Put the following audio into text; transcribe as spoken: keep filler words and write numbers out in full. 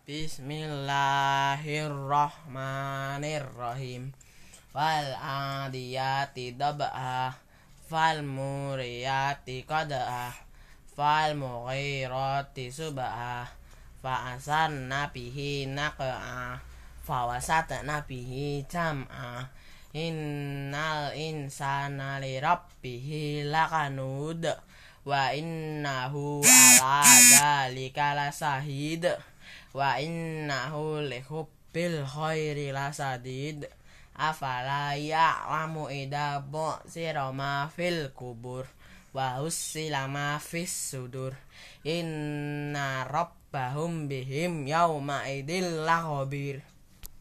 Bismillahirrahmanirrahim. Wal adiyati dab'ah, fal muriyati qad'ah, fal mughirati sub'ah, fa asanna bihi naq'ah, fa wasatna bihi jam'ah. Innal insana li rabbihi lakanud, wa innahu ala dzalika lasahid, wa innahu li hubbil khairi lasadid. Afala ya'lamu idza bu'sira ma fil kubur, wa hussila ma fis sudur. Inna rabbahum bihim yawma idil lakhabir.